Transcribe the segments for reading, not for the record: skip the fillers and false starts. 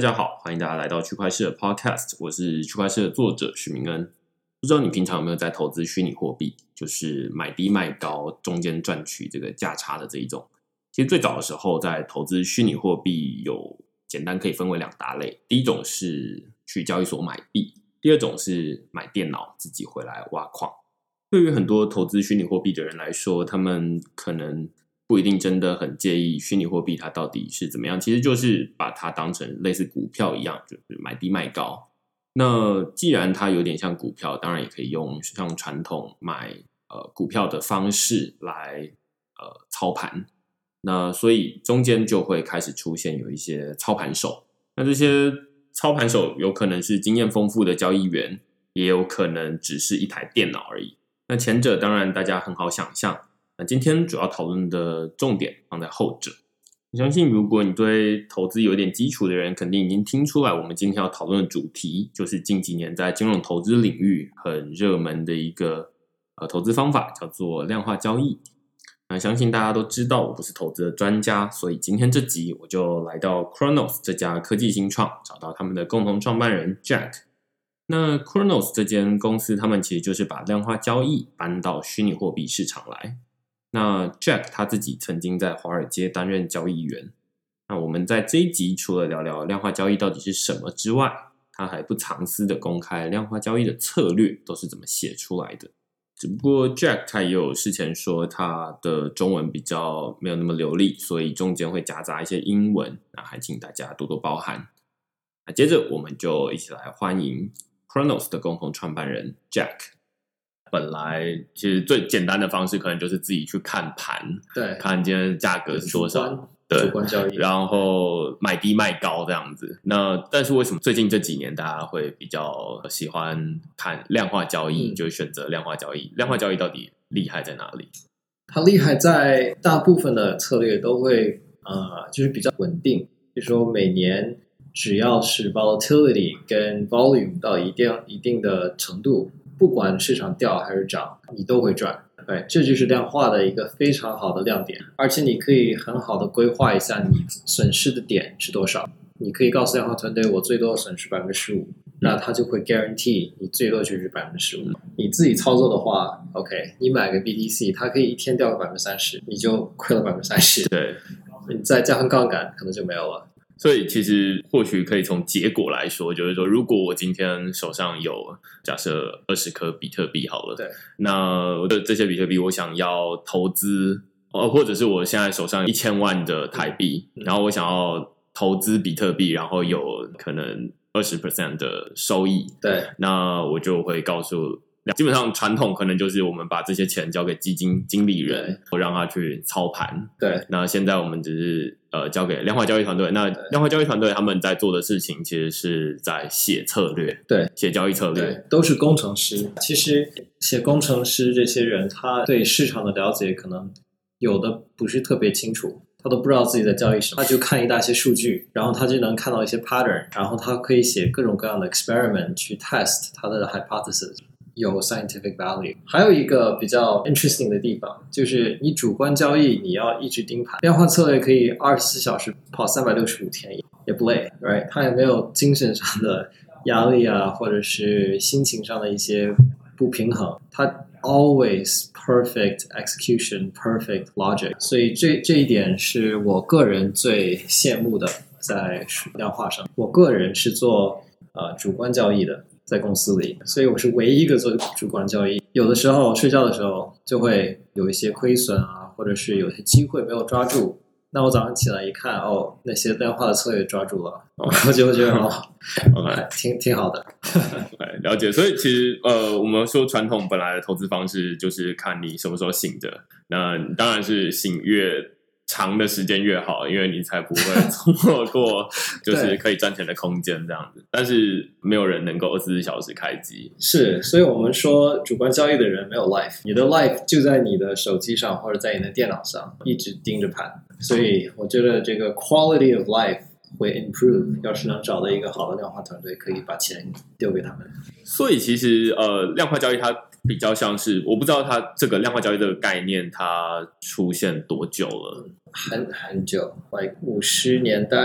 家好，欢迎大家来到区块市的 Podcast， 我是区块市的作者许明恩。不知道你平常有没有在投资虚拟货币，就是买低卖高，中间赚取这个价差的这一种。其实最早的时候，在投资虚拟货币有简单可以分为两大类，第一种是去交易所买币，第二种是买电脑自己回来挖矿。对于很多投资虚拟货币的人来说，他们可能不一定真的很介意虚拟货币它到底是怎么样，其实就是把它当成类似股票一样，就是买低卖高。那既然它有点像股票，当然也可以用像传统买股票的方式来操盘。那所以中间就会开始出现有一些操盘手，那这些操盘手有可能是经验丰富的交易员，也有可能只是一台电脑而已。那前者当然大家很好想象，那今天主要讨论的重点放在后者。我相信如果你对投资有点基础的人，肯定已经听出来我们今天要讨论的主题就是近几年在金融投资领域很热门的一个投资方法，叫做量化交易。那相信大家都知道我不是投资的专家，所以今天这集我就来到 Cronos 这家科技新创，找到他们的共同创办人 Jack。 那 Cronos 这间公司他们其实就是把量化交易搬到虚拟货币市场来。那 Jack 他自己曾经在华尔街担任交易员。那我们在这一集除了聊聊量化交易到底是什么之外，他还不藏私的公开量化交易的策略都是怎么写出来的。只不过 Jack 他也有事前说他的中文比较没有那么流利，所以中间会夹杂一些英文，那还请大家多多包涵。那接着我们就一起来欢迎 Cronos 的共同创办人 Jack。本来其实最简单的方式可能就是自己去看盘， 对， 看今天价格是多少， 主观交易， 然后买低卖高这样子。那但是为什么最近这几年大家会比较喜欢看量化交易，就选择量化交易？量化交易到底厉害在哪里？ 它厉害在大部分的策略都会就是比较稳定，就是说每年只要是 volatility 跟 volume 到一定的程度，不管市场掉还是涨，你都会赚。对，这就是量化的一个非常好的亮点，而且你可以很好的规划一下你损失的点是多少。你可以告诉量化团队，我最多损失 15%， 那他就会 guarantee 你最多就是 15%。 你自己操作的话 OK， 你买个 BTC 它可以一天掉个 30%， 你就亏了 30%。 对， 你再加上杠杆可能就没有了。 所以其实或许可以从结果来说，就是说如果我今天手上有假设20颗比特币好了， 对， 那我的这些比特币我想要投资，或者是我现在手上1000万的台币，然后我想要投资比特币，然后有可能 20% 的收益， 对， 那我就会告诉，基本上传统可能就是我们把这些钱交给基金经理人，让他去操盘。 对， 那现在我们只是交给量化交易团队。那量化交易团队他们在做的事情，其实是在写策略， 对， 写交易策略， 对，都是工程师。其实写工程师这些人，他对市场的了解可能有的不是特别清楚。他都不知道自己在交易什么，他就看一大些数据，然后他就能看到一些 pattern， 然后他可以写各种各样的 experiment 去 test 他的 hypothesis， 有 scientific value。 还有一个比较 interesting 的地方，就是你主观交易你要一直盯盘，量化策略可以24小时跑365天也不累， right？ 他也没有精神上的压力啊，或者是心情上的一些不平衡，他always perfect execution, perfect logic， 所以这一点是我个人最羡慕的，在量化上。我个人是做主观交易的，在公司里，所以我是唯一一个做主观交易。有的时候睡觉的时候就会有一些亏损啊，或者是有些机会没有抓住，那我早上起来一看，那些量化的策略抓住了，我就会觉得挺好的。 了解。所以其实我们说传统本来的投资方式就是看你什么时候醒着，那当然是醒越长的时间越好，因为你才不会错过就是可以赚钱的空间这样子。但是没有人能够24小时开机， 是，所以我们说主观交易的人没有 life， 你的 life 就在你的手机上或者在你的电脑上一直盯着盘。所以我觉得这个 quality of life 会 improve， 要是能找到一个好的量化团队，可以把钱丢给他们。 所以其实量化交易它比较像是，我不知道它这个量化交易这个概念它出现多久了。 很久 like 50年代。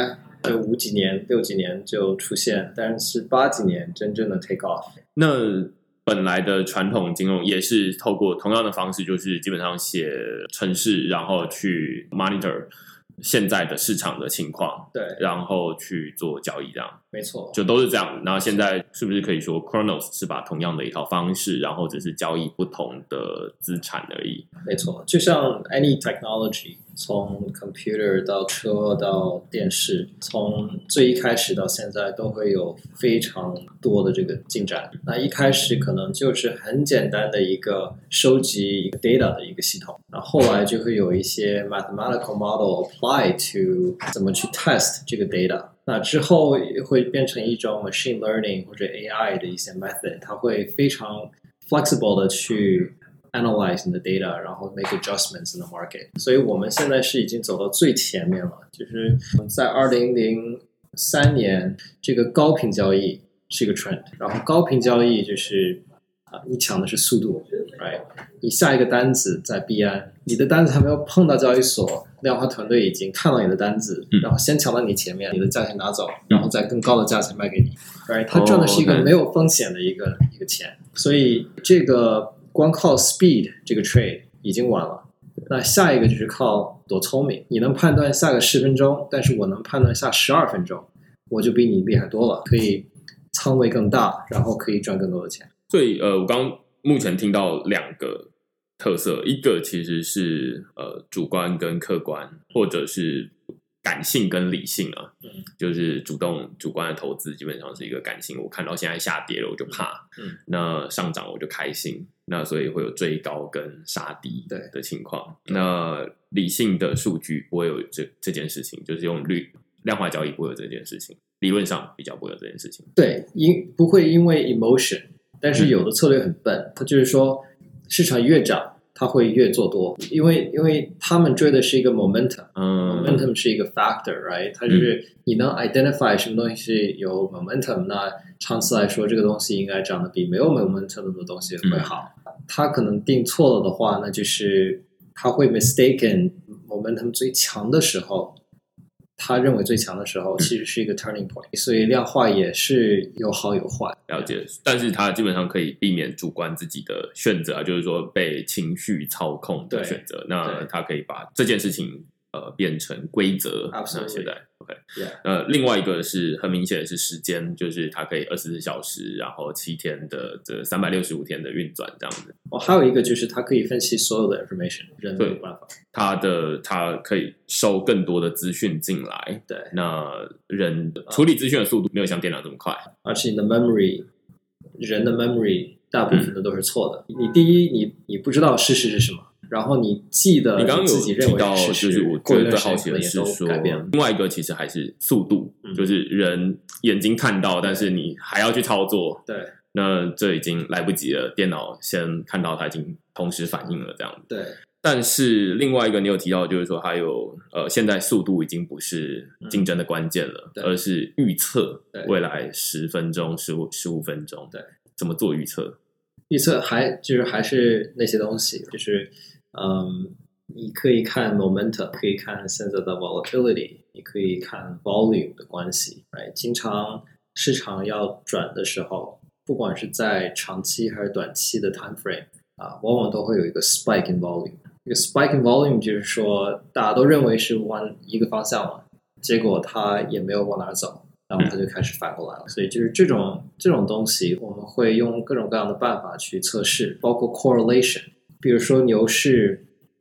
就5几年、6几年就出现，但是8几年真正的 take off。 那本来的传统金融也是透过同样的方式，就是基本上写程式，然后去 monitor 现在的市场的情况， 对， 然后去做交易，这样没错， 就都是这样。然后现在是不是可以说 Chronos 是把同样的一套方式，然后只是交易不同的资产而已？ 没错，就像 any technology， 从 computer 到车到电视，从最一开始到现在都会有非常多的这个进展。那一开始可能就是很简单的一个收集一个 data 的一个系统，然后后来就会有一些 mathematical model apply to 怎么去 test 这个 data。那之后会变成一种 machine learning 或者 AI 的一些 method， 它会非常 flexible 的去analyze 你的 data， 然后 make adjustments in the market。 所以我们现在是已经走到最前面了，就是在2003年这个高频交易是一个 trend， 然后高频交易就是你抢的是速度 right？ 你下一个单子在币安，你的单子还没有碰到交易所，量化团队已经看到你的单子，然后先抢到你前面，你的价钱拿走，然后再更高的价钱卖给你 right？ 他赚的是一个没有风险的一个钱，所以这个光靠 speed 这个 trade 已经晚了。那下一个就是靠多聪明，你能判断下个10分钟，但是我能判断下12分钟，我就比你厉害多了，可以仓位更大，然后可以赚更多的钱。 所以我刚目前听到2个特色，一个其实是主观跟客观，或者是感性跟理性啊，就是主观的投资基本上是一个感性，我看到现在下跌了我就怕，那上涨我就开心，那所以会有追高跟杀低的情况。那理性的数据不会有这件事情，就是用量化交易不会有这件事情，理论上比较不会有这件事情。 对，不会因为 emotion， 但是有的策略很笨，它就是说市场越涨它会越做多，因为他们追的是一个 momentum，momentum 是一个 factor，right？ 它就是你能 identify 什么东西是有 momentum， 那长期来说这个东西应该涨得比没有 momentum 的东西会好。他可能定错了的话，那就是他会 mistaken momentum 最强的时候，他认为最强的时候其实是一个 turning point， 所以量化也是有好有坏。 了解，但是他基本上可以避免主观自己的选择，就是说被情绪操控的选择。那他可以把这件事情变成规则。那现在 OK， 另外一个是很明显的是时间，就是它可以24小时，然后7天的这365天的运转这样子。 还有一个就是它可以分析所有的 information， 人没有办法。它可以收更多的资讯进来， 对， 那人处理资讯的速度没有像电脑这么快， 而且你的 memory， 人的 memory 大部分的都是错的。你第一，你不知道事实是什么。然后你记得你刚刚有自己认为提到，就是我觉得最好奇的是说， 改变了。 另外一个其实还是速度，就是人眼睛看到，但是你还要去操作， 对， 那这已经来不及了。电脑先看到，它已经同时反应了，这样子。 对。 但是另外一个你有提到，就是说还有现在速度已经不是竞争的关键了，而是预测未来10分钟、15分钟， 对， 怎么做预测？ 预测还是那些东西，就是你可以看 momentum， 可以看现在的 volatility， 你可以看 volume 的关系。经常市场要转的时候，不管是在长期还是短期的 time frame 往往都会有一个 spike in volume。这个 spike in volume 就是说，大家都认为是往一个方向了，结果它也没有往哪走。然后它就开始反过来了，所以就是这种东西，我们会用各种各样的办法去测试，包括 correlation。比如说牛市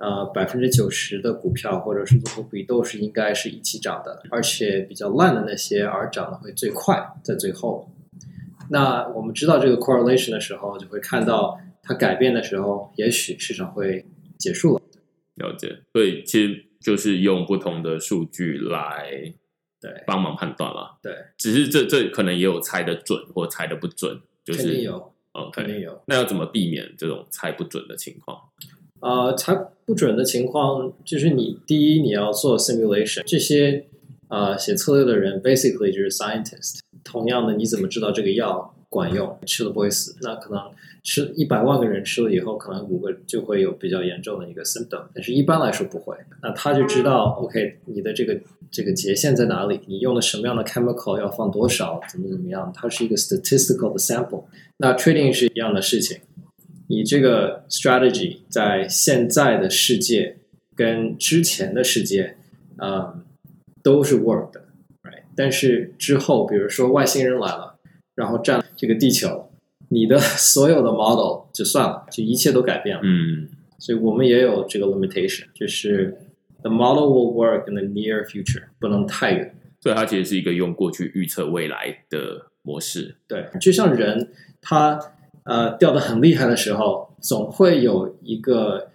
，90%的股票或者是组合比都是应该是一起涨的，而且比较烂的那些而涨的会最快，在最后。那我们知道这个 correlation 的时候，就会看到它改变的时候，也许市场会结束了。 了解，所以其实就是用不同的数据来。 对， 帮忙判断啦。 对， 只是这可能也有猜得准或猜得不准，就是肯定有， OK， 肯定有。 那要怎么避免这种猜不准的情况？ 猜不准的情况就是第一你要做 simulation， 这些写策略的人 basically 就是 scientist。同样的，你怎么知道这个药管用，吃了不会死。那可能吃100万个人吃了以后，可能5个就会有比较严重的一个 symptom， 但是一般来说不会。那他就知道 OK 你的这个节限在哪里，你用的什么样的 chemical 要放多少，怎么样，它是一个 statistical 的 sample。那 trading 是一样的事情，你这个 strategy 在现在的世界跟之前的世界都是 work 的， right？ 但是之后比如说外星人来了，然后占这个地球，你的所有的 model 就算了，就一切都改变了。所以我们也有这个 limitation， 就是 the model will work in the near future， 不能太远。 所以它其实是一个用过去预测未来的模式。 对，就像人他掉得很厉害的时候，总会有一个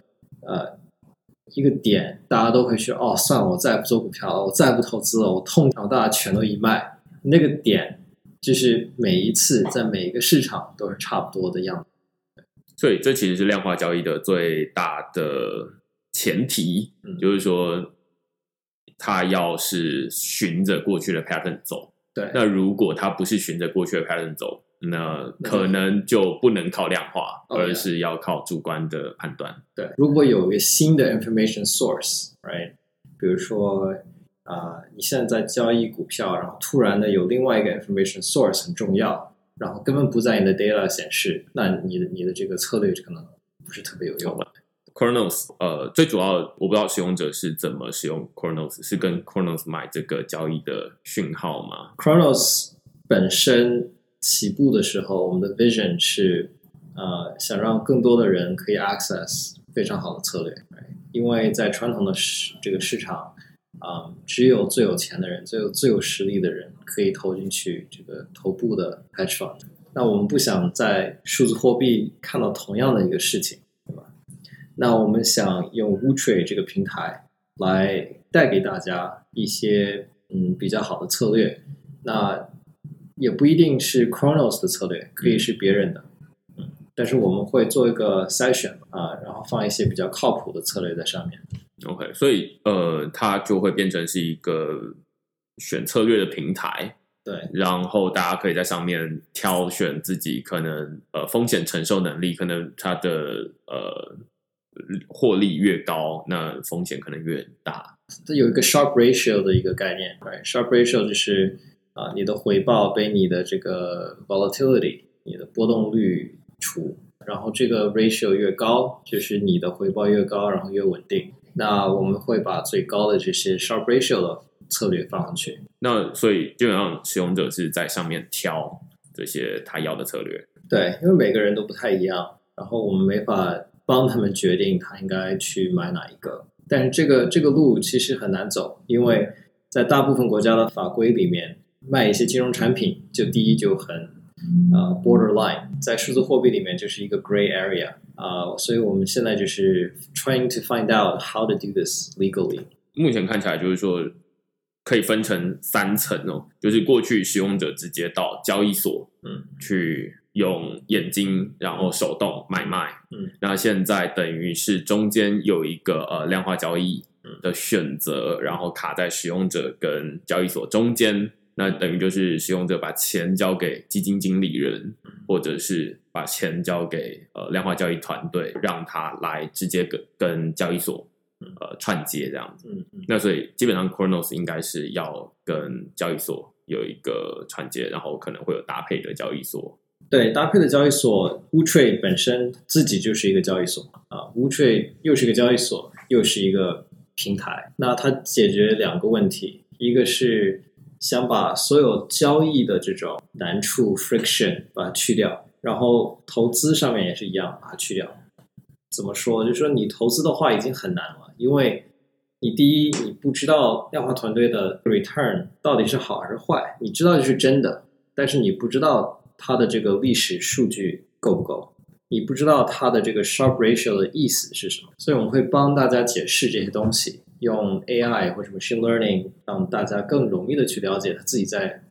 点，大家都会说哦，算了，我再也不做股票了，我再也不投资了，我痛，然后大家全都一卖。那个点就是每一次在每一个市场都是差不多的样子。 所以这其实是量化交易的最大的前提，就是说它要是循着过去的 pattern 走。 对， 那如果它不是循着过去的 pattern 走，那可能就不能靠量化，而是要靠主观的判断。 对，如果有一个新的 information source， right？ 比如说你现在在交易股票，然后突然的有另外一个 information source 很重要，然后根本不在你的 data 显示，那你的这个策略可能不是特别有用。 Cronos 最主要我不知道使用者是怎么使用 Cronos， 是跟 Cronos 买这个交易的讯号吗？ Cronos 本身起步的时候，我们的 vision 是想让更多的人可以 access 非常好的策略，因为在传统的这个市场只有最有钱的人，最有实力的人可以投进去这个头部的 hedge fund。那我们不想在数字货币看到同样的一个事情，对吧？那我们想用 WooTrade 这个平台来带给大家一些比较好的策略。那也不一定是 Cronos 的策略，可以是别人的。但是我们会做一个筛选然后放一些比较靠谱的策略在上面。 OK， 所以它就会变成是一个选策略的平台。 对， 然后大家可以在上面挑选自己可能风险承受能力，可能它的获利越高，那风险可能越大。 这有一个 Sharpe ratio 的一个概念， right？ Sharpe ratio 就是你的回报被你的这个 volatility， 你的波动率除，然后这个 ratio 越高，就是你的回报越高，然后越稳定。那我们会把最高的这些 Sharpe ratio 的策略放上去。 那所以基本上使用者是在上面挑这些他要的策略。 对，因为每个人都不太一样，然后我们没法帮他们决定他应该去买哪一个。但是这个路其实很难走，因为在大部分国家的法规里面，卖一些金融产品，就第一就很borderline， 在数字货币里面就是一个 gray area 所以我们现在就是 trying to find out how to do this legally。 目前看起来就是说可以分成3层哦，就是过去使用者直接到交易所去用眼睛然后手动买卖，那现在等于是中间有一个量化交易的选择，然后卡在使用者跟交易所中间，那等于就是使用者把钱交给基金经理人，或者是把钱交给量化交易团队，让他来直接跟交易所串接这样子。那所以基本上 Cronos 应该是要跟交易所有一个串接，然后可能会有搭配的交易所。 对，搭配的交易所 WooTrade 本身自己就是一个交易所WooTrade 又是一个交易所，又是一个平台。那它解决2个问题，一个是想把所有交易的这种难处 friction 把它去掉，然后投资上面也是一样把它去掉。怎么说？就是说你投资的话已经很难了，因为你第一你不知道量化团队的 return 到底是好还是坏，你知道就是真的，但是你不知道它的这个历史数据够不够，你不知道它的这个 Sharpe ratio 的意思是什么。所以我们会帮大家解释这些东西，用 AI 或者 machine learning 让大家更容易的去了解他自己在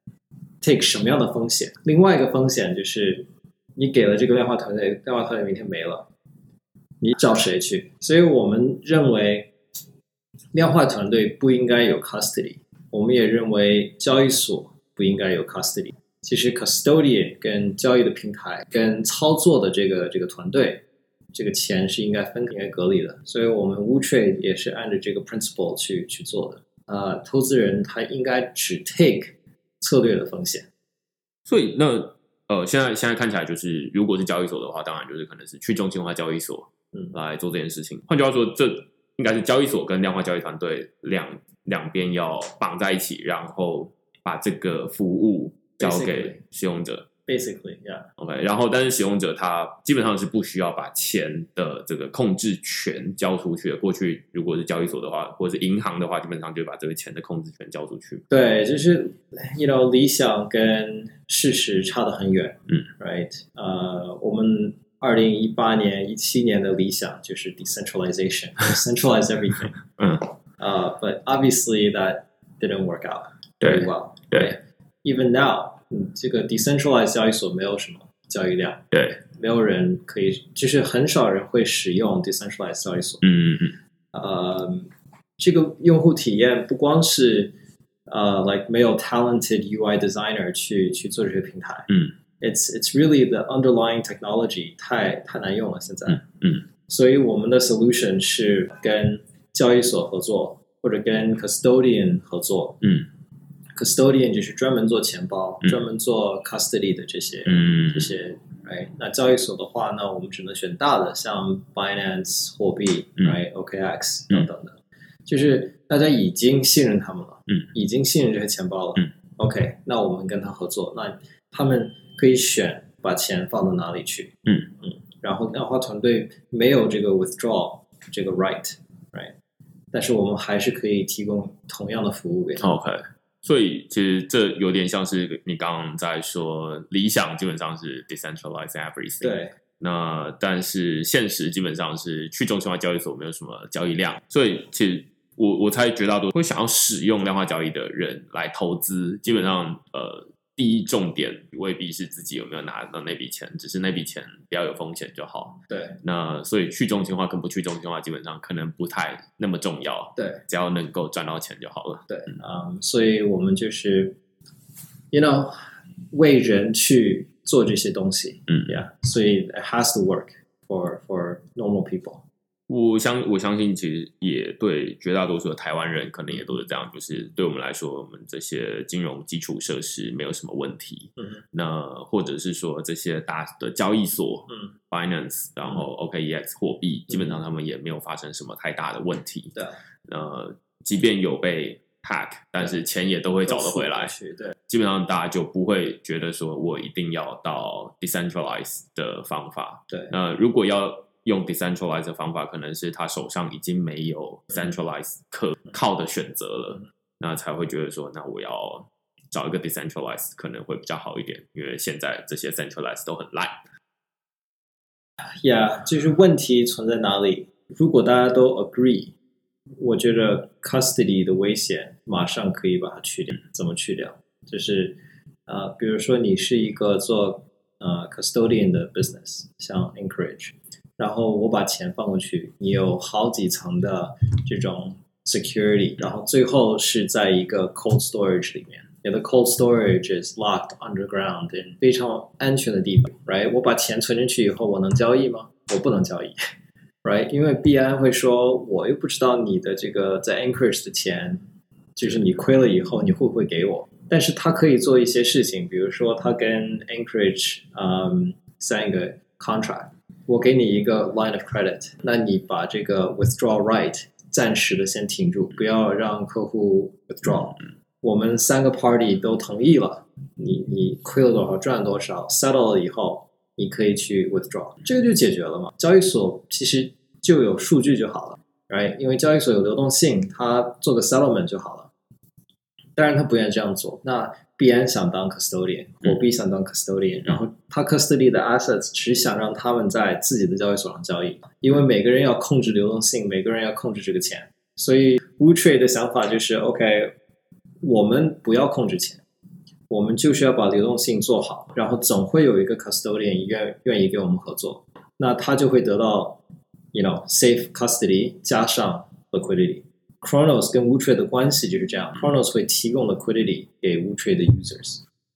take 什么样的风险。另外一个风险就是你给了这个量化团队，量化团队明天没了，你找谁去？所以我们认为量化团队不应该有 custody， 我们也认为交易所不应该有 custody。 其实 custodian 跟交易的平台跟操作的这个团队，这个钱是应该隔离的，所以我们 WooTrade 也是按照这个 principle 去做的。投资人他应该只 take 策略的风险。 所以那现在看起来就是，如果是交易所的话，当然就是可能是去中心化交易所来做这件事情。换句话说，这应该是交易所跟量化交易团队两边要绑在一起，然后把这个服务交给使用者。 Basically, yeah. OK， 然后但是使用者他基本上是不需要把钱的这个控制权交出去的。过去如果是交易所的话，或者是银行的话，基本上就把这个钱的控制权交出去。 对，就是理想跟事实差得很远。Right？ 我们2018年、17年的理想就是 decentralization, decentralize everything. But obviously that didn't work out very well. 对 ，Even now. 这个 decentralized 交易所没有什么交易量， 对， 没有人可以，就是很少人会使用 decentralized 交易所。这个用户体验不光是like 没有 talented UI designer 去做这些平台，it's really the underlying technology 太难用了现在，所以我们的 solution 是跟交易所合作，或者跟 custodian 合作，custodian 就是专门做钱包，专门做 custody 的这些，right？ 那交易所的话，那我们只能选大的，像 Binance 货币，right？ OKX 等等的，就是大家已经信任他们了，已经信任这些钱包了，OK？ 那我们跟他合作，那他们可以选把钱放到哪里去，然后量化团队没有这个 withdraw 这个 right？ 但是我们还是可以提供同样的服务给他们。 OK。所以其实这有点像是你刚刚在说，理想基本上是 decentralize everything， 对。 那但是现实基本上是去中心化交易所没有什么交易量，所以其实我猜绝大多数会想要使用量化交易的人来投资，基本上第一重点未必是自己有没有拿到那笔钱，只是那笔钱不要有风险就好。 对， 那所以去中心化跟不去中心化基本上可能不太那么重要。 对， 只要能够赚到钱就好了。 对，所以我们就是为人去做这些东西。Yeah， 所以 it has to work for normal people。 我相信其实也对绝大多数的台湾人可能也都是这样，就是对我们来说，我们这些金融基础设施没有什么问题。那或者是说这些大的交易所，Binance， 然后 OKEX 货币，基本上他们也没有发生什么太大的问题。 对， 即便有被 hack， 但是钱也都会找得回来。 对， 基本上大家就不会觉得说我一定要到 decentralize 的方法。 对， 那如果要用 decentralize 的方法，可能是他手上已经没有 centralize 可靠的选择了，那才会觉得说，那我要找一个 decentralize 可能会比较好一点，因为现在这些 centralize 都很烂。 Yeah， 就是问题存在哪里？如果大家都 agree， 我觉得 custody 的危险马上可以把它去掉。怎么去掉？就是比如说你是一个做custodian 的 business， 像 Anchorage。然后我把钱放过去，你有好几层的这种 security， 然后最后是在一个 cold storage 里面，你的 cold storage is locked underground in 非常安全的地方 ，right？ 我把钱存进去以后，我能交易吗？我不能交易 ，right？ 因为币安会说，我又不知道你的这个在 Anchorage 的钱，就是你亏了以后你会不会给我？但是他可以做一些事情，比如说他跟 Anchorage sign 一个 contract。我给你一个 line of credit， 那你把这个 withdraw right 暂时的先停住，不要让客户 withdraw。我们3个 party 都同意了，你亏了多少赚多少 settle 了以后，你可以去 withdraw， 这个就解决了嘛。交易所其实就有数据就好了 ，right？ 因为交易所有流动性，它做个 settlement 就好了。当然他不愿意这样做，那币安想当 custodian， 货币想当 custodian， 然后他 custody 的 assets 只想让他们在自己的交易所上交易，因为每个人要控制流动性，每个人要控制这个钱，所以 WooTrade 的想法就是 OK， 我们不要控制钱，我们就是要把流动性做好，然后总会有一个 custodian 愿意跟我们合作，那他就会得到 safe custody 加上 liquidity。Chronos 跟 WooTrade 的关系就是这样，Chronos 会提供 liquidity 给 WooTrade 的 users，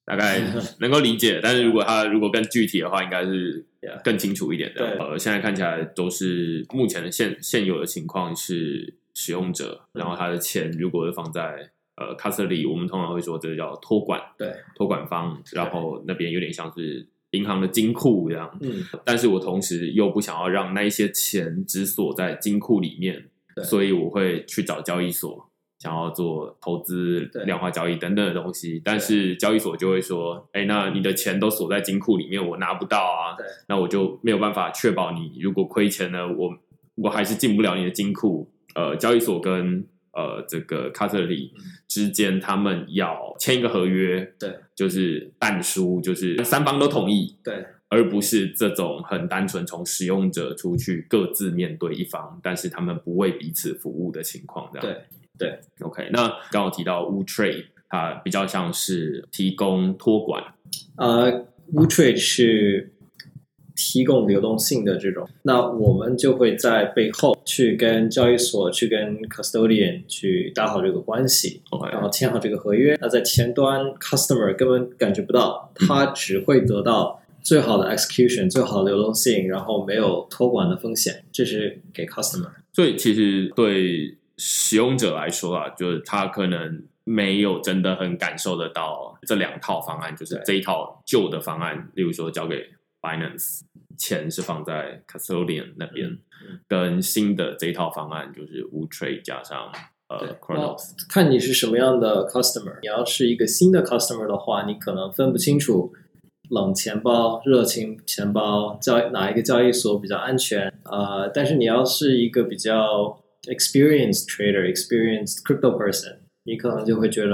大概能够理解，但是如果更具体的话，应该是更清楚一点的。现在看起来都是目前的现有的情况是使用者，然后他的钱如果是放在custody， 我们通常会说这个叫托管， 对， 托管方，然后那边有点像是银行的金库这样。但是我同时又不想要让那一些钱只锁在金库里面，所以我会去找交易所。想要做投资、量化交易等等的东西，但是交易所就会说：“哎，那你的钱都锁在金库里面，我拿不到啊，那我就没有办法确保你如果亏钱了，我还是进不了你的金库。”交易所跟这个 custody 之间，他们要签一个合约， 对， 就是但书，就是三方都同意， 对， 而不是这种很单纯从使用者出去各自面对一方，但是他们不为彼此服务的情况，这样对 ，OK。那刚刚提到 WooTrade， 它比较像是提供托管 ，WooTrade 是提供流动性的这种，那我们就会在背后去跟交易所、去跟 custodian 去打好这个关系，然后签好这个合约。那在前端 customer 根本感觉不到，他只会得到最好的 execution、最好的流动性，然后没有托管的风险，这是给 customer。 所以其实对使用者来说啊，就是他可能没有真的很感受得到这两套方案，就是这一套旧的方案，例如说交给 Binance， 钱是放在 custodian 那边，跟新的这一套方案就是 WooTrade 加上Chronos。 看你是什么样的 customer， 你要是一个新的 customer 的话，你可能分不清楚冷钱包、热钱包哪一个交易所比较安全。但是你要是一个比较experienced trader、experienced crypto person， 你可能就会觉得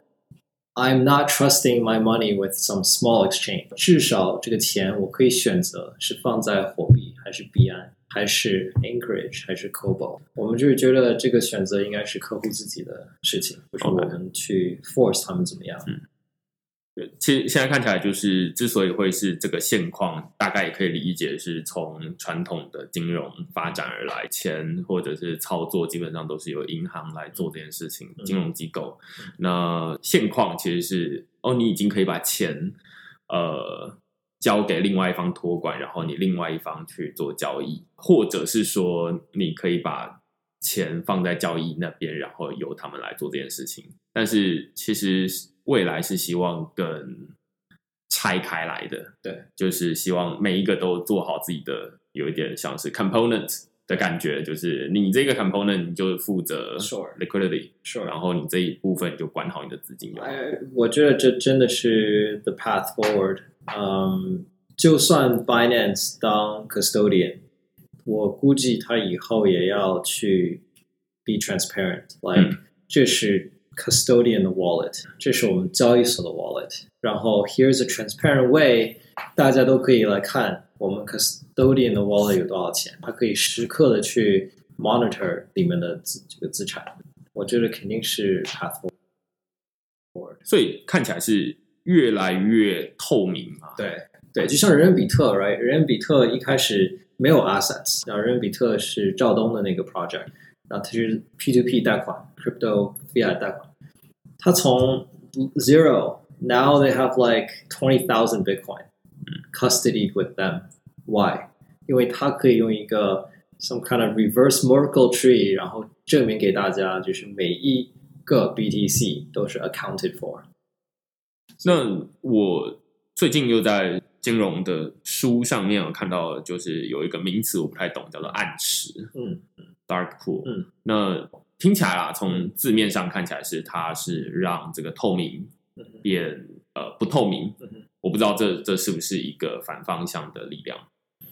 I'm not trusting my money with some small exchange。至少这个钱我可以选择是放在火币，还是币安，还是 Anchorage， 还是 Cobo。我们就是觉得这个选择应该是客户自己的事情，不是我们去 force 他们怎么样。 其实现在看起来，就是之所以会是这个现况，大概也可以理解是从传统的金融发展而来，钱或者是操作基本上都是由银行来做这件事情，金融机构。那现况其实是你已经可以把钱交给另外一方托管，然后你另外一方去做交易，或者是说你可以把钱放在交易那边，然后由他们来做这件事情。但是其实未来是希望更拆开来的， 对， 就是希望每一个都做好自己的，有一点像是 component 的感觉，就是你这个 component 你就负责 liquidity， 然后你这一部分就管好你的资金。 我觉得这真的是 the path forward。就算 Binance 当 custodian， 我估计他以后也要去 be transparent，like 这是 custodian 的 wallet， 这是我们交易所的 wallet， 然后 here's a transparent way， 大家都可以来看我们 custodian 的 wallet 有多少钱，它可以时刻的去 monitor 里面的这个资产。我觉得肯定是 path forward， 所以看起来是越来越透明嘛。 对，就像人人比特 ，right？ 人人比特一开始没有 assets， 然后人人比特是赵东的那个 project， 然后它是 P2P 贷款 ，crypto fiat 贷款，它从 zero now they have like 20,000 Bitcoin custodied with them. Why？ 因为它可以用一个 some kind of reverse Merkle tree， 然后证明给大家，就是每一个 BTC 都是 accounted for。 那我最近又在金融的书上面有看到，就是有一个名词我不太懂，叫做暗池，dark pool。那听起来啦，从字面上看起来是它是让这个透明变不透明。我不知道这是不是一个反方向的力量。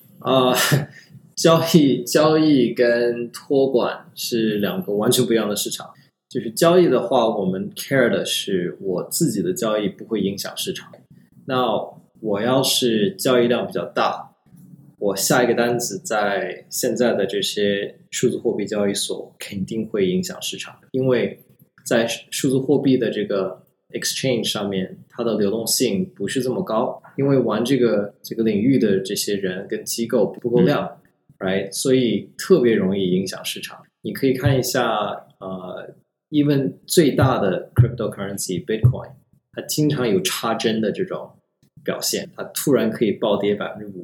交易跟托管是两个完全不一样的市场。就是交易的话，我们 care 的是我自己的交易不会影响市场。那我要是交易量比较大，我下一个单子在现在的这些数字货币交易所肯定会影响市场，因为在数字货币的这个 exchange 上面，它的流动性不是这么高，因为玩这个领域的这些人跟机构不够量，right？ 所以特别容易影响市场。你可以看一下even 最大的 cryptocurrency Bitcoin， 它经常有插针的这种表现，它突然可以暴跌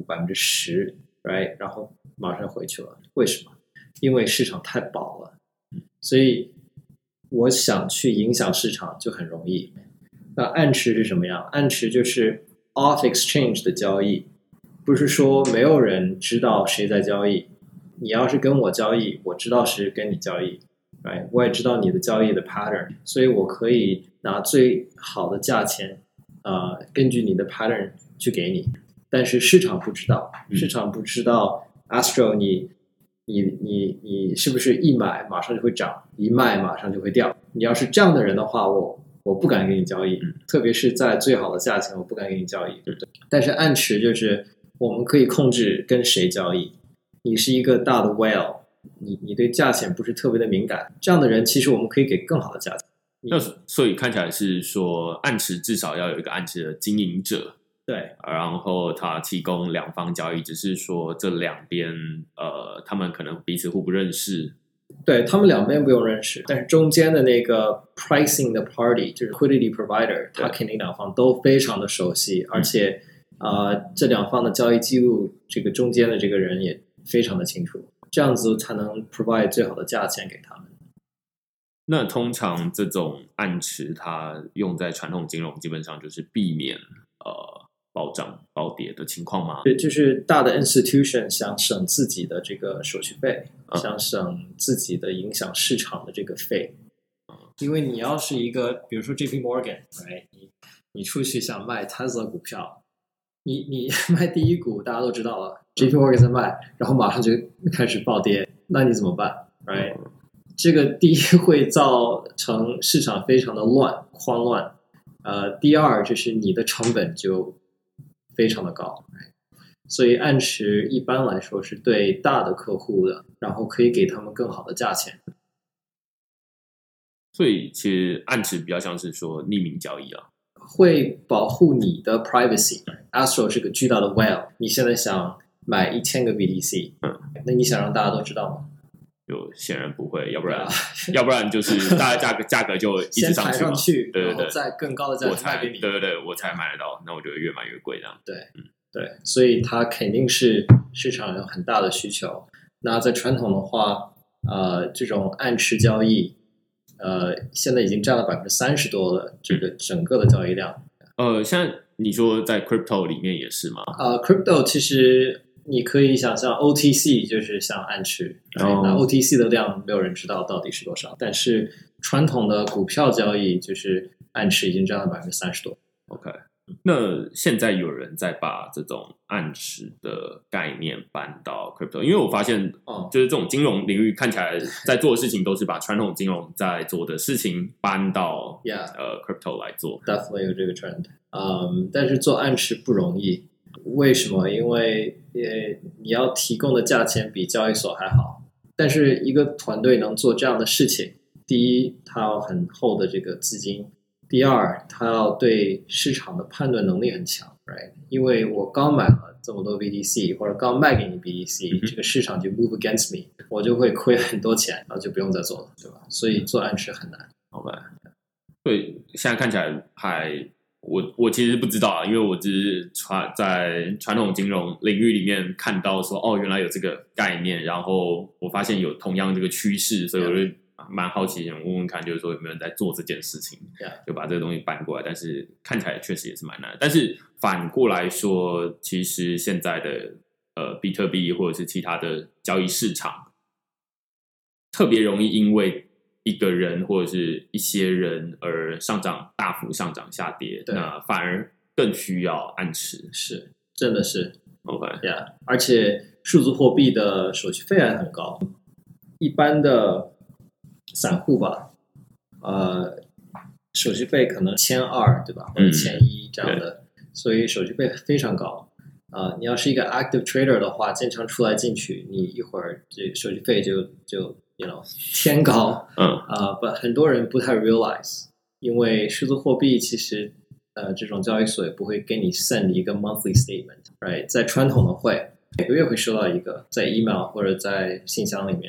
5%、10%， right？ 然后马上回去了，为什么？因为市场太饱了，所以我想去影响市场就很容易。那暗池是什么样？暗池就是 off exchange 的交易，不是说没有人知道谁在交易。你要是跟我交易，我知道是跟你交易， right？ 我也知道你的交易的 pattern， 所以我可以拿最好的价钱，根据你的 pattern 去给你。但是市场不知道，市场不知道 Astro 你是不是一买马上就会涨，一卖马上就会掉？你要是这样的人的话，我不敢给你交易，特别是在最好的价钱，我不敢给你交易，对不对？但是暗池就是我们可以控制跟谁交易。你是一个大的 whale， 你对价钱不是特别的敏感，这样的人其实我们可以给更好的价钱。 那所以看起来是说，暗池至少要有一个暗池的经营者， 对， 然后他提供两方交易，只是说这两边他们可能彼此互不认识。 对，他们两边不用认识，但是中间的那个 pricing 的 party 就是 liquidity provider， 他肯定两方都非常的熟悉，而且这两方的交易记录，这个中间的这个人也非常的清楚，这样子才能 provide 最好的价钱给他们。 那通常这种暗池，它用在传统金融，基本上就是避免暴涨暴跌的情况吗？ 对，就是大的 institution 想省自己的这个手续费，想省自己的影响市场的这个费。因为你要是一个，比如说 JP Morgan，right？ 你出去想卖 Tesla 股票，你卖第一股，大家都知道了 ，JP Morgan 在卖，然后马上就开始暴跌，那你怎么办 ？right？这个第一会造成市场非常的慌乱，第二就是你的成本就非常的高，所以暗池一般来说是对大的客户的，然后可以给他们更好的价钱。 所以其实暗池比较像是说匿名交易啊， 会保护你的 privacy。Astro 是个巨大的 whale， 你现在想买1000个 BTC，那你想让大家都知道吗？ 就显然不会，要不然就是大家价格就一直上去嘛，对， 然后再更高的价钱卖给你， 对，我才买得到，那我就越买越贵这样。 对，所以它肯定是市场有很大的需求。那在传统的话，这种暗池交易，现在已经占了30%多了，这个整个的交易量。 像你说在 crypto 里面也是吗 ？crypto 其实你可以想象 OTC 就是像暗池，那 OTC 的量没有人知道到底是多少，但是传统的股票交易就是暗池已经占了30%多。 OK， 那现在有人在把这种暗池的概念搬到 crypto， 因为我发现就是这种金融领域看起来在做的事情都是把传统金融在做的事情搬到crypto 来做。 Definitely 有这个 trend，但是做暗池不容易。为什么？因为你要提供的价钱比交易所还好，但是一个团队能做这样的事情，第一，它要很厚的这个资金；第二，它要对市场的判断能力很强 ，right？ 因为我刚买了这么多 BTC， 或者刚卖给你 BTC，这个市场就 move against me， 我就会亏很多钱，然后就不用再做了，对吧？所以做暗池很难。 好吧，对，现在看起来还。我其实不知道啊，因为我只是在传统金融领域里面看到说，原来有这个概念，然后我发现有同样这个趋势，所以我就蛮好奇，想问问看，就是说有没有人在做这件事情，就把这个东西搬过来。但是看起来确实也是蛮难的。但是反过来说，其实现在的比特币或者是其他的交易市场，特别容易因为一个人或者是一些人而大幅上涨下跌，那反而更需要暗池。 是，真的是 OK， 而且数字货币的手续费还很高，一般的散户吧，手续费可能1200，对吧？或者1100这样的，所以手续费非常高。你要是一个 active trader 的话，经常出来进去，你一会儿这手续费就天高，很多人不太 realize， 因为数字货币其实这种交易所也不会给你 send 一个 monthly statement，right？ 在传统的会每个月会收到一个，在 email 或者在信箱里面，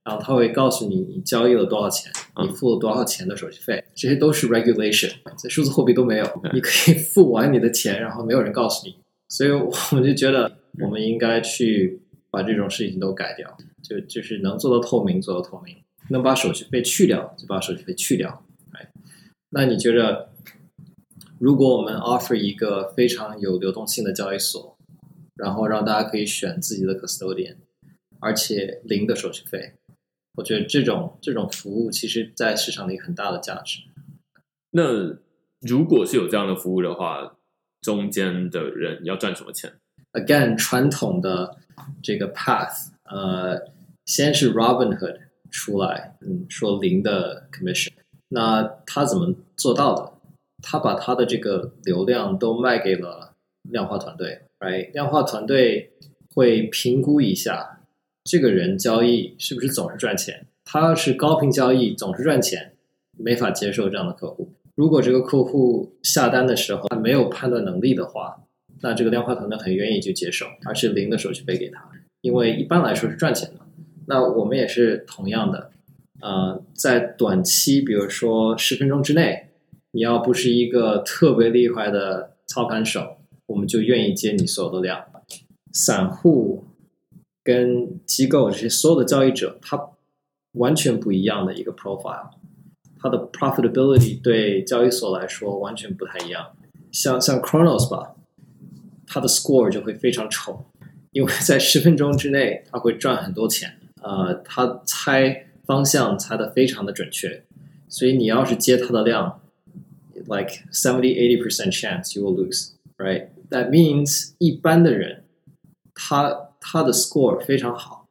然后他会告诉你你交易了多少钱，你付了多少钱的手续费，这些都是 regulation， 在数字货币都没有，你可以付完你的钱，然后没有人告诉你，所以我们就觉得我们应该去把这种事情都改掉，就是能做到透明做到透明，能把手续费去掉就把手续费去掉。那你觉得如果我们 offer 一个非常有流动性的交易所，然后让大家可以选自己的 custodian， 而且零的手续费，我觉得这种服务其实在市场里很大的价值。 那如果是有这样的服务的话，中间的人要赚什么钱？ Again， 传统的这个 path， 先是 Robinhood 出来，说零的 commission， 那他怎么做到的？他把他的这个流量都卖给了量化团队 ，right？ 量化团队会评估一下这个人交易是不是总是赚钱。他要是高频交易总是赚钱，没法接受这样的客户。如果这个客户下单的时候他没有判断能力的话，那这个量化团队很愿意去接受，而是零的手续费给他，因为一般来说是赚钱的。那我们也是同样的，在短期，比如说10分钟之内，你要不是一个特别厉害的操盘手，我们就愿意接你所有的量。散户跟机构这些所有的交易者，他完全不一样的一个 profile， 它的 profitability 对交易所来说完全不太一样。像 Chronos 吧，它的 score 就会非常丑，因为在10分钟之内它会赚很多钱，它猜方向猜得非常的准确，所以你要是接它的量 like 70-80% chance you will lose, right? That means 一般的人他的 score 非常好，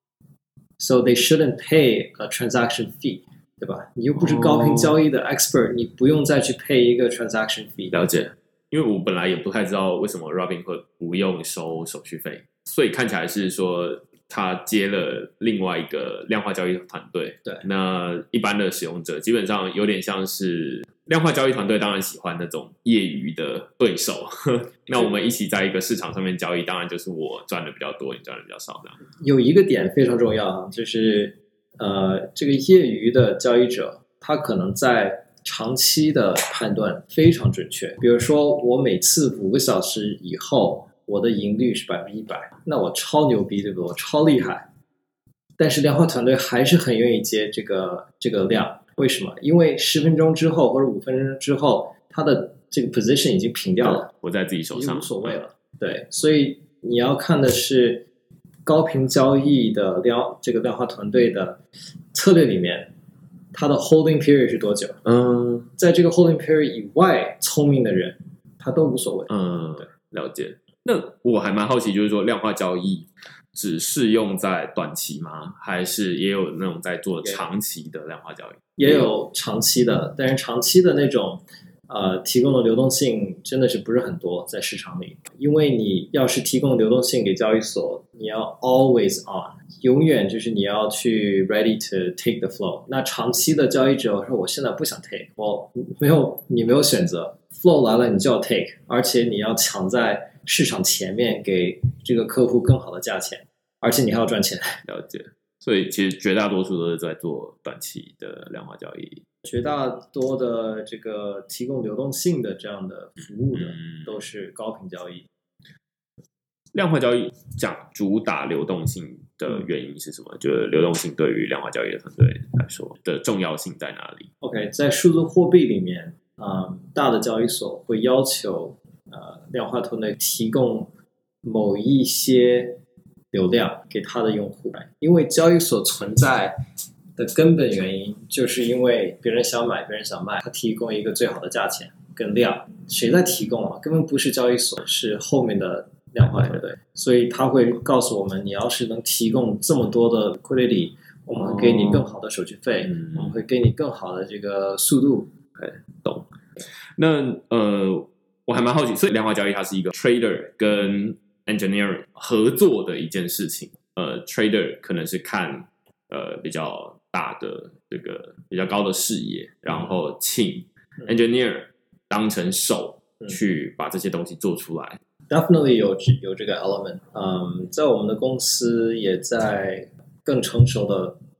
so they shouldn't pay a transaction fee， 对吧？你又不是高频交易的 expert， 你不用再去 pay 一个 transaction fee。 了解，因为我本来也不太知道为什么 Robinhood 不用收手续费，所以看起来是说他接了另外一个量化交易团队。 对， 那一般的使用者基本上有点像是量化交易团队，当然喜欢那种业余的对手。那我们一起在一个市场上面交易，当然就是我赚的比较多，你赚的比较少这样。 有一个点非常重要，就是这个业余的交易者，他可能在长期的判断非常准确。比如说，我每次5个小时以后，我的盈率是100%，那我超牛逼，对不对？我超厉害。但是量化团队还是很愿意接这个量，为什么？因为10分钟之后或者5分钟之后，它的这个 position 已经平掉了， 我在自己手上， 无所谓了。对，所以你要看的是高频交易的这个量化团队的策略里面，它的 holding period 是多久？在这个 holding period 以外，聪明的人他都无所谓。 对，了解。那我还蛮好奇，就是说量化交易只适用在短期吗？还是也有那种在做长期的量化交易？ 也有长期的，但是长期的那种提供的流动性真的是不是很多在市场里，因为你要是提供流动性给交易所，你要 always on， 永远就是你要去 ready to take the flow。那长期的交易者说我现在不想 take， 你没有选择 ，flow 来了你就要 take， 而且你要抢在市场前面给这个客户更好的价钱，而且你还要赚钱。 了解。所以其实绝大多数都是在做短期的量化交易， 绝大多的这个提供流动性的这样的服务的都是高频交易。 量化交易讲主打流动性的原因是什么？就是流动性对于量化交易的团队来说的重要性在哪里 ？OK， 在数字货币里面，大的交易所会要求量化团队提供某一些流量给他的用户，因为交易所存在的根本原因就是因为别人想买，别人想卖，他提供一个最好的价钱跟量。谁在提供啊？根本不是交易所，是后面的量化团队。所以他会告诉我们，你要是能提供这么多的 liquidity， 我们会给你更好的手续费，我们会给你更好的这个速度。 懂。那我还蛮好奇，所以量化交易它是一个 trader 跟 engineering 合作的一件事情。trader 可能是看比较大的这个比较高的视野，然后请 engineer 当成手去把这些东西做出来。 Definitely 有这个 element。在我们的公司也在更成熟的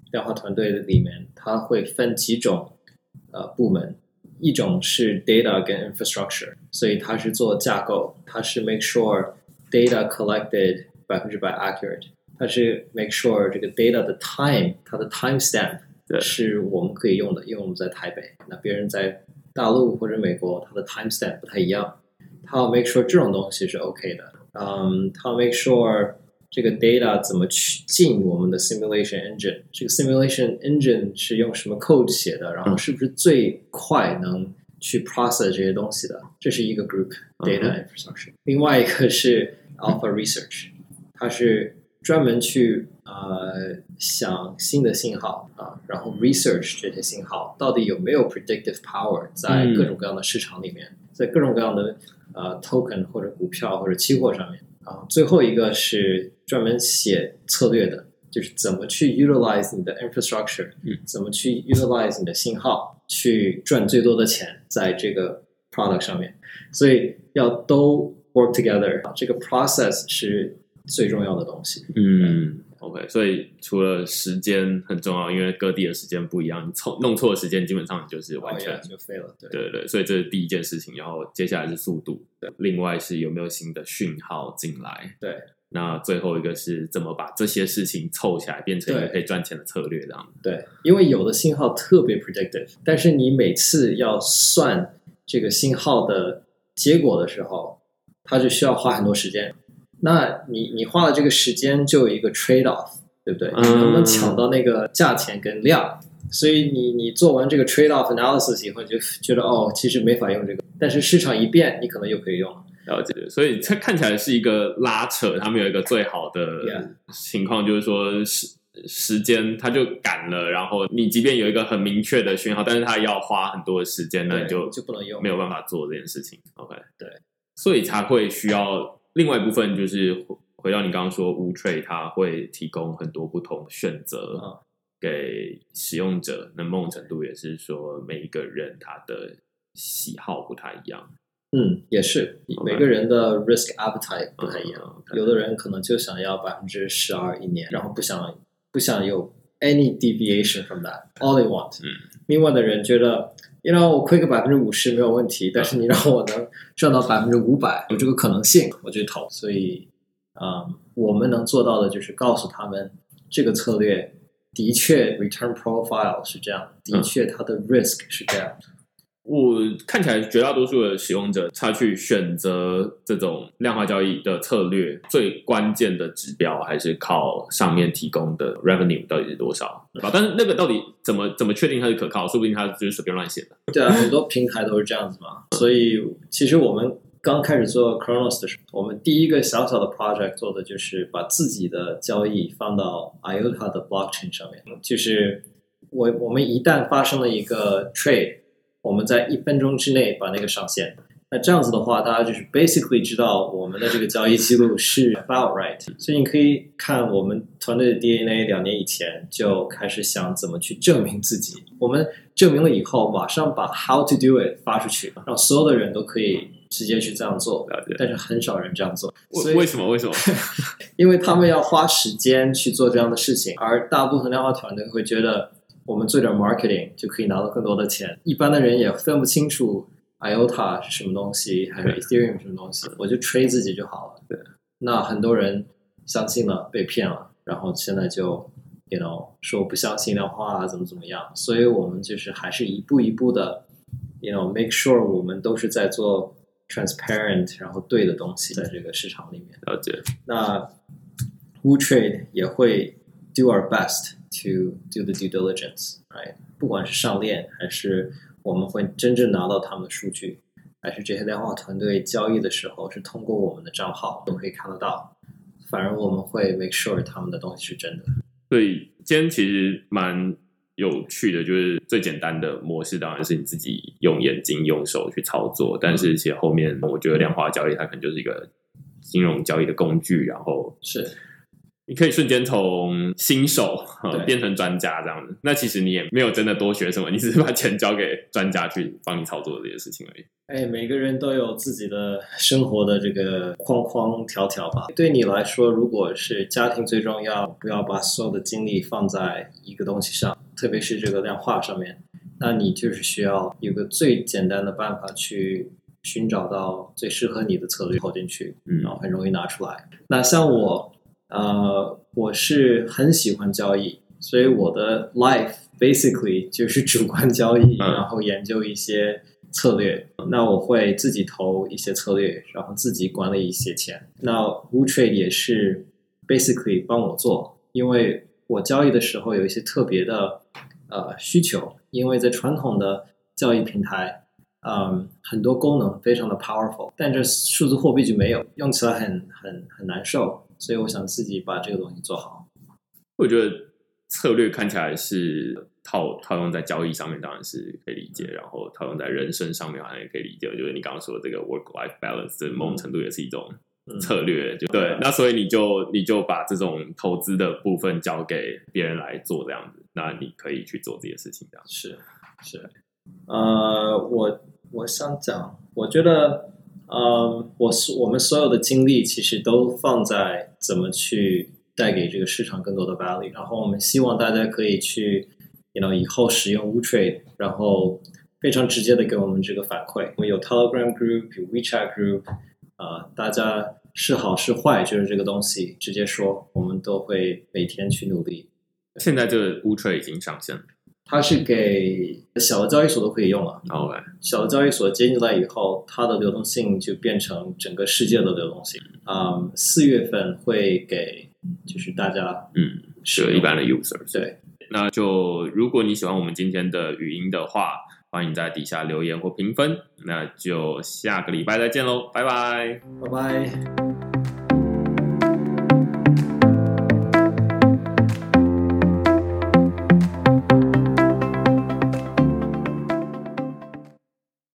量化团队里面，它会分几种部门，一种是 data 跟 infrastructure， 所以它是做架构，它是 make sure data collected 100% accurate， 它是 make sure 这个 data 的 time， 它的 timestamp 是我们可以用的，因为我们在台北，那别人在大陆或者美国，它的 timestamp 不太一样，它要 make sure 这种东西是 OK 的，它要 make sure 这个 data 怎么去进我们的 simulation engine， 这个 simulation engine 是用什么 code 写的，然后是不是最快能去 process 这些东西的，这是一个 group data infrastructure。另外一个是 alpha research， 它是专门去想新的信号然后 research 这些信号到底有没有 predictive power 在各种各样的市场里面，在各种各样的token 或者股票或者期货上面最后一个是专门写策略的，就是怎么去 utilize 你的 infrastructure，怎么去 utilize 你的信号去赚最多的钱在这个 product 上面，所以要都 work together， 这个 process 是最重要的东西。 OK， 所以除了时间很重要，因为各地的时间不一样，你弄错的时间基本上你就是完全就废了。 对，所以这是第一件事情，然后接下来是速度，另外是有没有新的讯号进来， 对， 那最后一个是怎么把这些事情凑起来变成一个可以赚钱的策略，这样。 对，因为有的信号特别 predictive， 但是你每次要算这个信号的结果的时候，它就需要花很多时间。那你花了这个时间就有一个 trade off， 对不对？你能不能抢到那个价钱跟量？所以你做完这个 trade off analysis 以后，你就觉得其实没法用这个，但是市场一变，你可能又可以用了。 了解，所以它看起来是一个拉扯，他们有一个最好的情况，就是说时间它就赶了，然后你即便有一个很明确的讯号，但是它要花很多的时间，那你就不能用， 没有办法做这件事情。OK， 对， 所以才会需要。另外一部分就是回到你刚刚说，WooTrade 它会提供很多不同的选择给使用者，那某种程度也是说每一个人他的喜好不太一样。 也是每个人的 risk appetite 不太一样，有的人可能就想要12%一年，然后不想有 any deviation from that all they want。另外的人觉得我亏个50%没有问题，但是你让我能赚到500%，有这个可能性，我就投。所以，我们能做到的就是告诉他们，这个策略的确 return profile 是这样，的确它的 risk 是这样。 我看起来绝大多数的使用者，他去选择这种量化交易的策略，最关键的指标还是靠上面提供的 revenue 到底是多少，对吧？但是那个到底怎么确定它是可靠？说不定它就是随便乱写的。 对啊，很多平台都是这样子嘛。所以其实我们刚开始做 Chronos 的时候，我们第一个小小的 project 做的就是把自己的交易放到 IOTA 的 blockchain 上面，就是我们一旦发生了一个 trade，我们在1分钟之内把那个上线，那这样子的话，大家就是 basically 知道我们的这个交易记录是 about right。所以你可以看我们团队的 DNA 2年以前就开始想怎么去证明自己。我们证明了以后，马上把 how to do it 发出去，让所有的人都可以直接去这样做。但是很少人这样做。 为什么？ 因为他们要花时间去做这样的事情，而大部分量化团队会觉得，我们做点 marketing 就可以拿到更多的钱。一般的人也分不清楚 IOTA 是什么东西，还是 Ethereum 什么东西，我就 trade 自己就好了。 对， 那很多人相信了，被骗了，然后现在就说不相信量化怎么样。所以我们就是还是一步一步的make sure 我们都是在做 transparent 然后对的东西在这个市场里面。 了解。 那 WooTrade 也会 do our best to do the due diligence， right？ 不管是上链还是我们会真正拿到他们的数据，还是这些量化团队交易的时候是通过我们的账号都可以看得到，反而我们会 make sure 他们的东西是真的。 所以今天其实蛮有趣的，就是最简单的模式当然是你自己用眼睛用手去操作，但是其实后面我觉得量化交易它可能就是一个金融交易的工具，然后是你可以瞬间从新手变成专家这样子。那其实你也没有真的多学什么，你只是把钱交给专家去帮你操作这些事情而已。 每个人都有自己的生活的这个框框条条吧。对你来说，如果是家庭最重要，不要把所有的精力放在一个东西上，特别是这个量化上面，那你就是需要有个最简单的办法去寻找到最适合你的策略投进去，然后很容易拿出来。那像我是很喜欢交易，所以我的 life basically 就是主观交易，然后研究一些策略。那我会自己投一些策略，然后自己管理一些钱。那 WooTrade 也是 basically 帮我做，因为我交易的时候有一些特别的需求，因为在传统的交易平台。很多功能非常的 powerful， 但这数字货币就没有，用起来很难受，所以我想自己把这个东西做好。 我觉得策略看起来是套用在交易上面，当然是可以理解，然后套用在人生上面好像也可以理解。我觉得你刚刚说的这个 work-life balance， 这某种程度也是一种策略，对。那所以你就把这种投资的部分交给别人来做这样子，那你可以去做这些事情这样。 是。我想讲，我觉得，我们所有的精力其实都放在怎么去带给这个市场更多的 value， 然后我们希望大家可以去，以后使用 WooTrade， 然后非常直接的给我们这个反馈。我们有 Telegram group， 有 WeChat group， 大家是好是坏，就是这个东西直接说，我们都会每天去努力。 现在这个 WooTrade 已经上线了。 它是给小的交易所都可以用了。 Okay. 小的交易所接进来以后，它的流动性就变成整个世界的流动性。4月份会给就是大家是一般的 user。 对， 那就如果你喜欢我们今天的语音的话，欢迎在底下留言或评分。那就下个礼拜再见喽，拜拜， 拜拜。